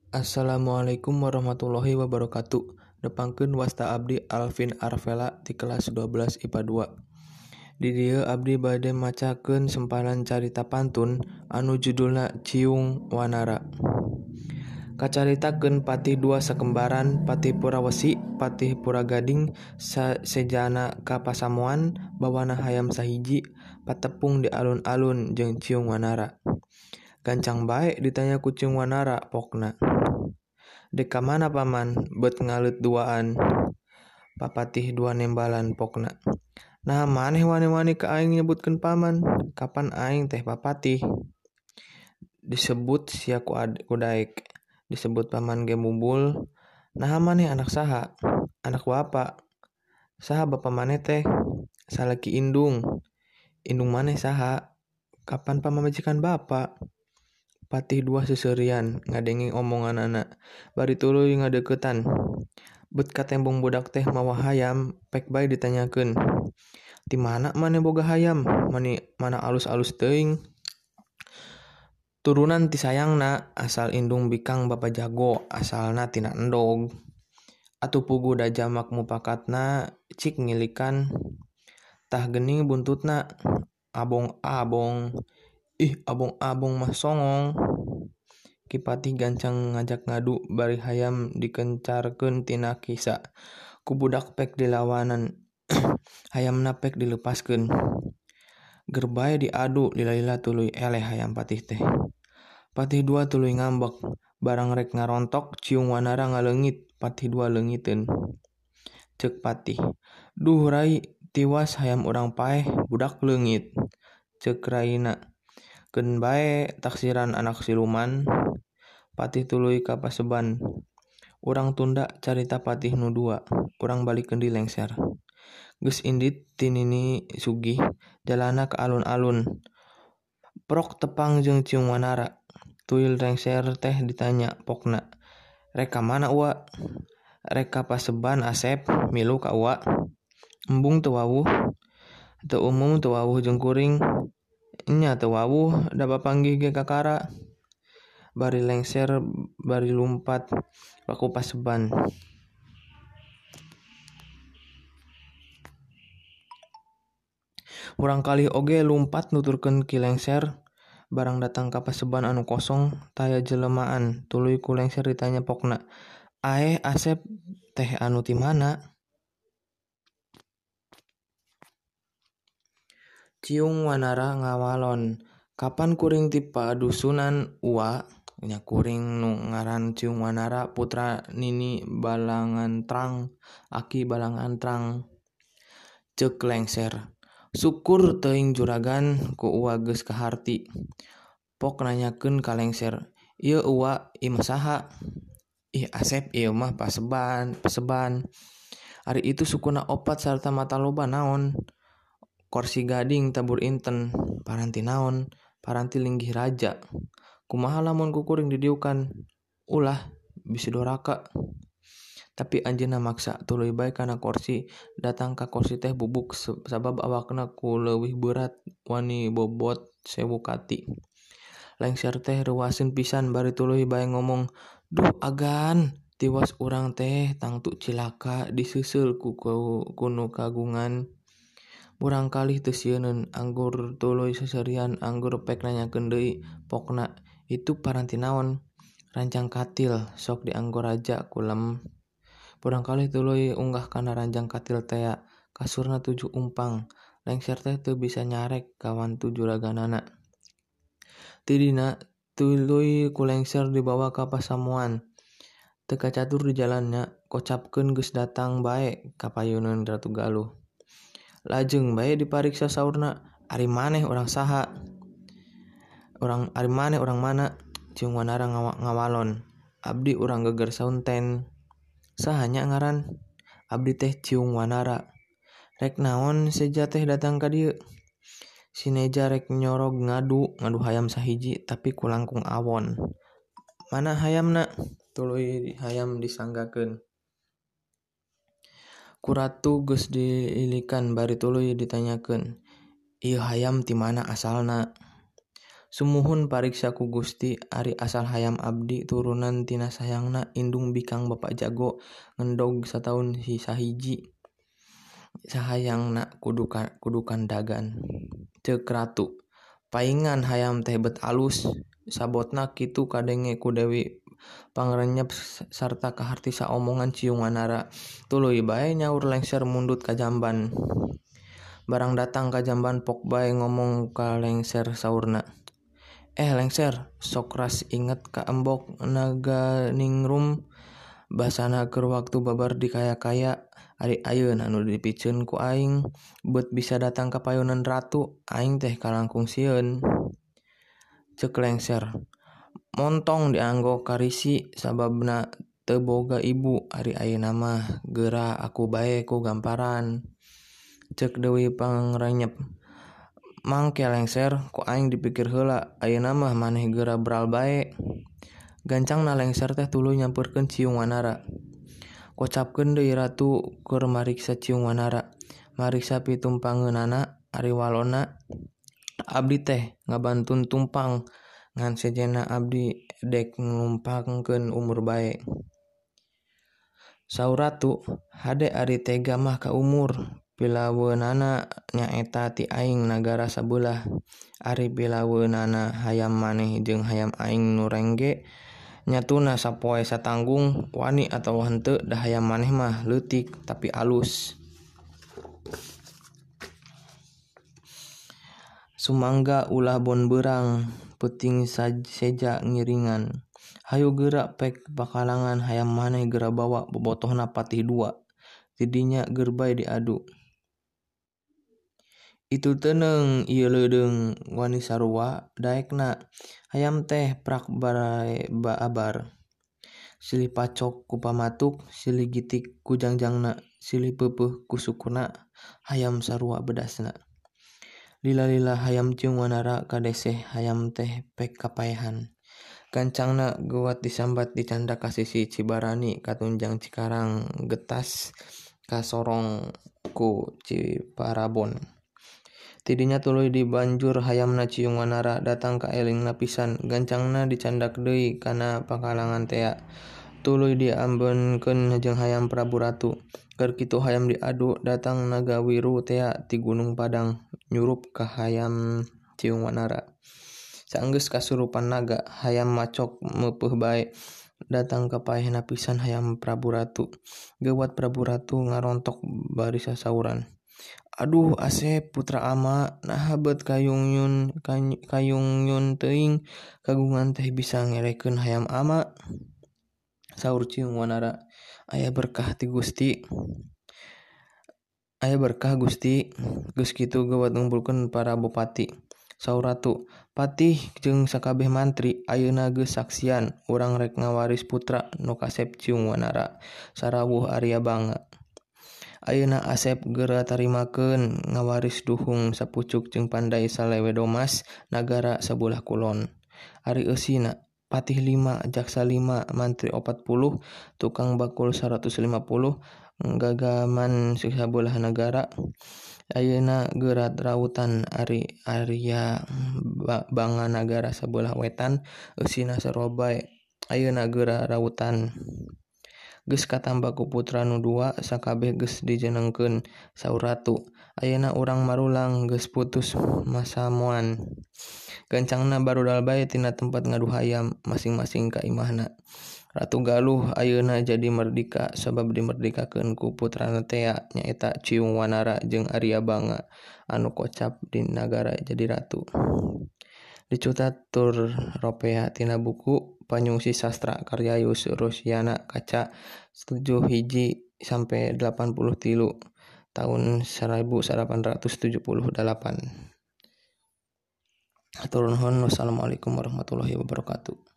Assalamualaikum warahmatullahi wabarakatuh. Nepangkeun wasta abdi Alvin Arvela di kelas 12 IPA 2. Di dieu abdi bade macakeun sempalan carita pantun anu judulna Ciung Wanara. Kacaritakeun patih dua sakembaran, patih Purawesi, patih Puragading, sejana ka pasamuan, bawana hayam sahiji, patepung di alun-alun jeung Ciung Wanara. Gancang bae ditanya ku Ciung Wanara pokna. Dek ka mana paman? Bet ngalut duaan. Papatih dua nembalan pokna. Nah maneh wani-wani ka aing nyebutkeun paman? Kapan aing teh papatih? Disebut sia ku daek. Disebut paman ge mumbul. Nah maneh anak saha? Anak bapa. Saha bapa maneh teh? Salaki indung. Indung maneh saha? Kapan pamamajikan bapa? Patih dua seuseurean ngadenge omonganana. Bari tuluy ngadeuketan. Bet ka tembung budak teh mawa hayam, pek bae ditanyakeun. Ti mana maneh boga hayam? Mana alus-alus teuing? Turunan ti sayangna, asal indung bikang bapa jago, asalna tina endog. Atuh pugu da jamak mupakatna cik ngilikan. Tah geuning buntutna abong-abong. Ih abong-abong mah songong. Kipatih gancang ngajak ngadu bari hayam dikencarkeun tina kisa. Ku budak pek dilawanan. Hayamna pek dilepaskeun. Ger bae diadu lila-lila tuluy eleh hayam patih teh. Patih dua tuluy ngambek. Barang rek ngarontok Ciung Wanara ngaleungit. Patih dua leungiteun. Ceuk patih. Duh rai, tiwas hayam urang paeh budak leungit. Ceuk raina. Keun bae taksiran anak siluman. Patih tuluy ka paseban. Urang tunda carita patih nu dua. Urang balikeun di lengser. Geus indit ti Nini sugih, jalana ka alun-alun. Prok tepang jeung Ciung Wanara. Tuyul lengser teh ditanya pokna. Rek ka mana ua? Rek ka paseban Asep, milu ka ua. Embung teu wawuh. Teu umum teu wawuh jeung kuring. Nya teu wawuh da bapanggih ge kakara. Bari lengser bari lumpat baku paseban. Urang kalih oge lumpat nuturkeun ki lengser. Barang datang ka paseban anu kosong, taya jelemaan. Tuluy ku lengser ditanya pokna. Aeh Asep teh anu ti mana? Ciung Wanara ngawalon. Kapan kuring ti padusunan ua? Nya kuring nu ngaran Ciung Wanara putra Nini Balangantrang, Aki Balangantrang. Ceuk lengser. Syukur teuing juragan ku ua geus kaharti. Pok nanyakeun ka lengser. Ieu ua imah saha? Ih Asep ieu mah paseban. Ari itu sukuna opat sarta mata loba naon? Korsi gading tabur inten. Paranti naon? Paranti linggih raja. Kumaha lamun ku kuring didiukan? Ulah bisi doraka. Tapi anjeunna maksa tuluy bae kana korsi. Datang ka korsi teh bubuk sabab awakna ku leuwih berat wani bobot 1000 kati. Lengser teh reuaseun pisan bari tuluy bae ngomong. Duh agan, tiwas urang teh tangtu cilaka diseuseul ku nu kagungan. Urang kalih teu sieun anggur tuluy seserian anggur pek nanyakeun deui pokna. Itu paranti naon? Ranjang katil sok dianggo raja kulem. Urang kalih tuluy unggah kana ranjang katil tea. Kasurna 7 umpang. Lengser teh teu bisa nyarek kawan 7 juraganana. Ti dina tuluy ku lengser dibawa ka pasamuan. Teu kacatur di jalannya, kocapkeun geus datang bae ka payeuneun Ratu Galuh. Lajeng bae dipariksa saurna. Ari maneh urang saha? Ari maneh urang mana? Ciung Wanara ngawalon. Abdi urang Geger Saunten. Saha nya ngaran? Abdi teh Ciung Wanara. Rek naon seja teh datang ka dieu? Si Neja rek nyorog ngadu hayam sahiji tapi ku langkung awon. Mana hayamna? Tuluy hayam disanggakeun. Ku ratu geus diilikan bari tuluy ditanyakeun. Ieu hayam ti mana asalna? Sumuhun pariksa ku Gusti ari asal hayam abdi turunan tina sayangna indung bikang Bapak Jago ngendog sataun sahiji sahayangna kudukan dagan. Ceuk ratu paingan hayam teh bet alus sabotna kitu kadenge ku Dewi Pangrenyep sarta kaharti saomongan ciung wanara. Tuluy bae nyaur lengser mundut ka jamban. Barang datang ka jamban pok bae ngomong ka lengser saurna. Lengser, sok ras inget ka embok naga ningrum basana keur waktu babar di kaya-kaya ari ayeuna anu dipikeun ku aing bet bisa datang ka payunan ratu aing teh kalangkung sieun. Ceuk lengser, montong dianggo karisi sababna teu boga ibu ari ayeuna mah geura aku bae ku gamparan. Ceuk Dewi Pangrenyep, mangke lengser ku aing dipikir heula ayeuna mah maneh geura beral bae. Gancangna lengser teh tuluy nyampeurkeun ciung wanara. Kocapkeun deui ratu keur mariksa ciung wanara. Mariksa pitumpangeunana ari walona abdi teh ngabantun tumpang ngan sejenna abdi dek nglumpangkeun umur bae. Saur ratu, hade ari tega mah ka umur. Pilaweunana nyaeta ti aing nagara sabelah. Ari pilaweunana hayam maneh jeung hayam aing nu rengge nyatuna sapoe satanggung wani atawa henteu da hayam maneh mah leutik tapi alus. Sumangga ulah bon beurang peuting seja ngiringan. Hayu geura pek pakalangan hayam maneh geura bawa bobotohna patih 2. Tidinya geur bae diadu. Itu teuneng ieu leudeung wani sarua daekna. Hayam teh prak bae abar. Silih pacok ku pamatuk, silih gitik ku jangjangna, silih peupeuh ku sukuna, hayam sarua bedasna. Lila-lila hayam ciung wanara kadeseh hayam teh pek kapaehan. Gancangna geuat disambat dicanda ka sisi Cibarani katunjang Cikarang getas ka sorong ku Ciparabon. Tidinya tuluy dibanjur hayamna ciung wanara datang ka elingna pisan. Gancangna dicandak deui kana pakalangan tea. Tuluy diambeunkeun jeung hayam Prabu Ratu. Keur kitu hayam diadu datang naga wiru tea ti Gunung Padang nyurup ka hayam ciung wanara. Saenggeus kasurupan naga hayam macok meupeuh bae. Datang ka paehna pisan hayam Prabu Ratu. Geuwat Prabu Ratu ngarontok bari sasauran. Aduh Asep putra ama naha bet kayungyun teuing kagungan teh bisa ngerekeun hayam ama. Saur ciung wanara, aya berkah ti Gusti. Aya berkah Gusti. Geus kitu geuwat ngumpulkeun para bupati. Saur ratu, patih jeung sakabeh mantri ayeuna geus saksian urang rek ngawaris putra nu kasep ciung wanara sarawuh Arya Banga. Ayeuna Asep geura tarimakeun ngawaris duhung sapucuk jeung pandai salewe domas nagara sabelah kulon. Ari eusina patih 5, jaksa 5, mantri 40, tukang bakul 150, gagaman sabelah negara. Ayeuna geura rautan ari Arya Banga nagara sabelah wetan, eusina sarua bae. Ayeuna geura rautan. Geus katamba ku putra nu 2 sakabeh geus dijenengkeun. Saur ratu, ayeuna urang marulang geus putus masamoan. Gancangna barudal bae tina tempat ngadu hayam masing-masing ka imahna. Ratu Galuh ayeuna jadi merdeka sabab dimerdekakeun ku putrana tea nyaeta Ciung Wanara jeung Arya Banga anu kocap di nagara jadi ratu. Dicutat tur ropea tina buku Panyungsi Sastra karya Yus Rusyana kaca 7-83 tahun 1878. Hatur nuhun. Wassalamualaikum warahmatullahi wabarakatuh.